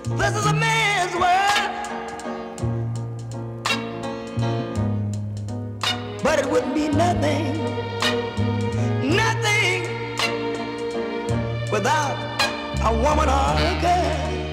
This is a man's world, but it wouldn't be nothing, nothing without a woman or a girl.